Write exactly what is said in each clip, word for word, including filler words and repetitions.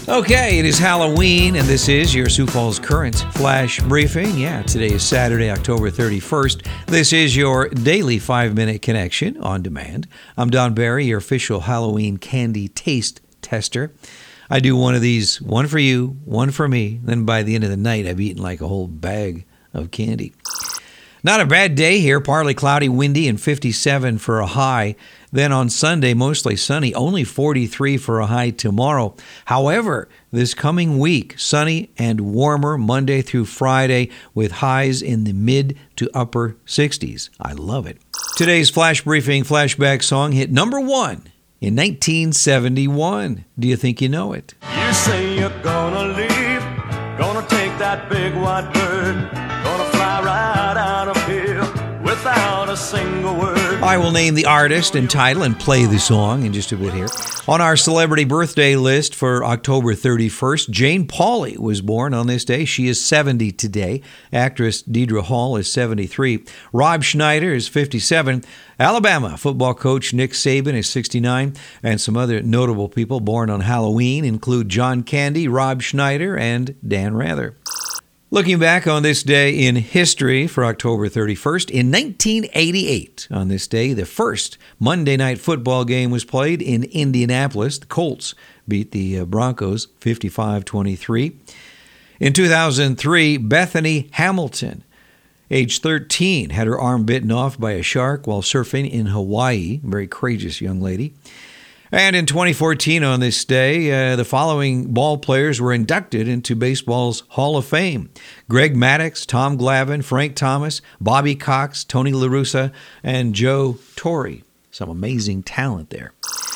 Okay, it is Halloween, and this is your Sioux Falls Current Flash Briefing. Yeah, today is Saturday, October thirty-first. This is your daily five-minute connection on demand. I'm Don Barry, your official Halloween candy taste tester. I do one of these, one for you, one for me. Then by the end of the night, I've eaten like a whole bag of candy. Not a bad day here, partly cloudy, windy, and fifty-seven for a high. Then on Sunday, mostly sunny, only forty-three for a high tomorrow. However, this coming week, sunny and warmer Monday through Friday with highs in the mid to upper sixties. I love it. Today's Flash Briefing flashback song hit number one in nineteen seventy-one. Do you think you know it? You say you're gonna leave, gonna take that big white bird, gonna fly right out of here without a single word. I will name the artist and title and play the song in just a bit here. On our celebrity birthday list for October thirty-first, Jane Pauley was born on this day. She is seventy today. Actress Deidre Hall is seventy-three. Rob Schneider is fifty-seven. Alabama football coach Nick Saban is sixty-nine. And some other notable people born on Halloween include John Candy, Rob Schneider, and Dan Rather. Looking back on this day in history for October thirty-first, in nineteen eighty-eight, on this day, the first Monday night football game was played in Indianapolis. The Colts beat the Broncos fifty-five twenty-three. In two thousand three, Bethany Hamilton, age thirteen, had her arm bitten off by a shark while surfing in Hawaii. Very courageous young lady. And in twenty fourteen, on this day, uh, the following ball players were inducted into baseball's Hall of Fame: Greg Maddux, Tom Glavine, Frank Thomas, Bobby Cox, Tony La Russa, and Joe Torre. Some amazing talent there.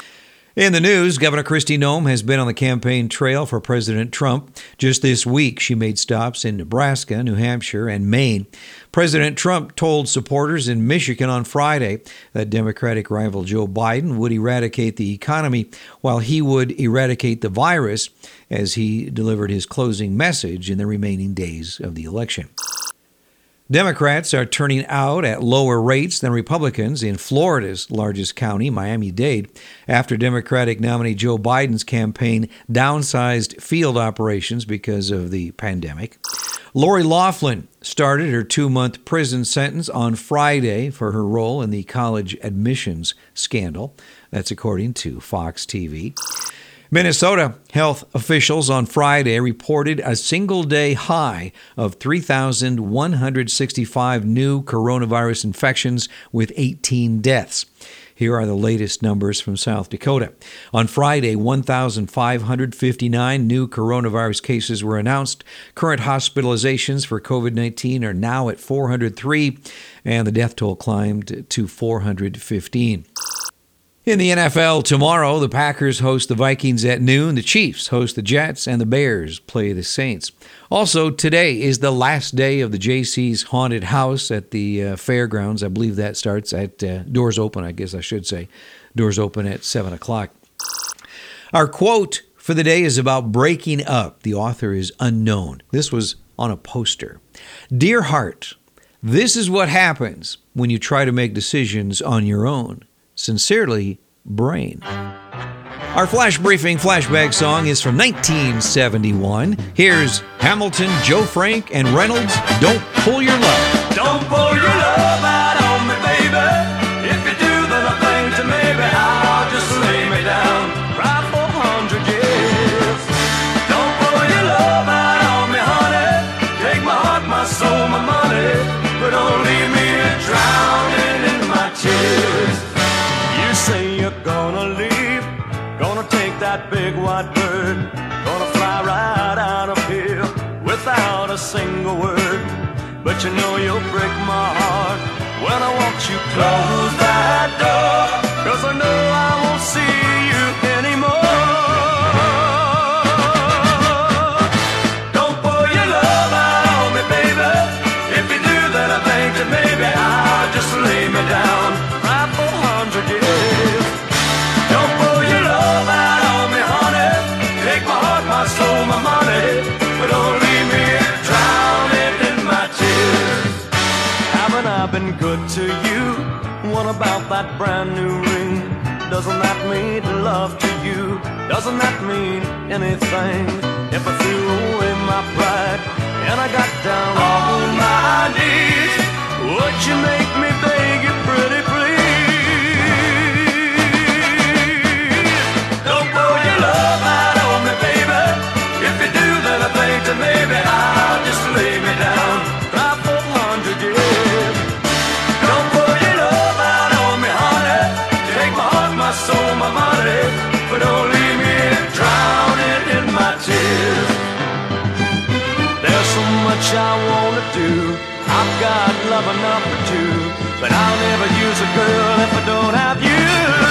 In the news, Governor Kristi Noem has been on the campaign trail for President Trump. Just this week, she made stops in Nebraska, New Hampshire, and Maine. President Trump told supporters in Michigan on Friday that Democratic rival Joe Biden would eradicate the economy while he would eradicate the virus, as he delivered his closing message in the remaining days of the election. Democrats are turning out at lower rates than Republicans in Florida's largest county, Miami-Dade, after Democratic nominee Joe Biden's campaign downsized field operations because of the pandemic. Lori Loughlin started her two-month prison sentence on Friday for her role in the college admissions scandal. That's according to Fox T V. Minnesota health officials on Friday reported a single-day high of three thousand one hundred sixty-five new coronavirus infections with eighteen deaths. Here are the latest numbers from South Dakota. On Friday, one thousand five hundred fifty-nine new coronavirus cases were announced. Current hospitalizations for covid nineteen are now at four hundred three, and the death toll climbed to four hundred fifteen. In the N F L tomorrow, the Packers host the Vikings at noon, the Chiefs host the Jets, and the Bears play the Saints. Also, today is the last day of the J C's Haunted House at the uh, fairgrounds. I believe that starts at uh, doors open, I guess I should say. Doors open at seven o'clock. Our quote for the day is about breaking up. The author is unknown. This was on a poster. Dear heart, this is what happens when you try to make decisions on your own. Sincerely, Brain. Our Flash Briefing flashback song is from nineteen seventy-one. Here's Hamilton, Joe Frank, and Reynolds, Don't Pull Your Love. Don't pull your love out on me, baby. If you do, then I think that maybe I'll just lay me down right for a hundred years. Don't pull your love out on me, honey. Take my heart, my soul, my money, but don't leave me drowning in my tears. You say you're gonna leave, gonna take that big white bird, gonna fly right out of here without a single word. But you know you'll break my heart when I watch you close that door, 'cause I know I won't see you anymore. Don't pull your love out on me, baby. If you do, then I think that maybe I'll just lay me down right for a hundred years. Don't pull your love out on me, honey. Take my heart, my soul, my money, but don't leave me drowning in my tears. Haven't I been good to you? What about that brand new ring? Doesn't that mean love to you? Does doesn't that mean anything? If I threw away my pride and I got down on my knees, would you make me beg you pretty please? Don't pour your love out on me, baby. If you do, then I think that maybe I'll just lay me down, cry for a hundred years. Don't pour your love out on me, honey. Take my heart, my soul, my money, but don't leave me drowning in my tears. There's so much I wanna do, I've got love enough for two, but I'll never use a girl if I don't have you.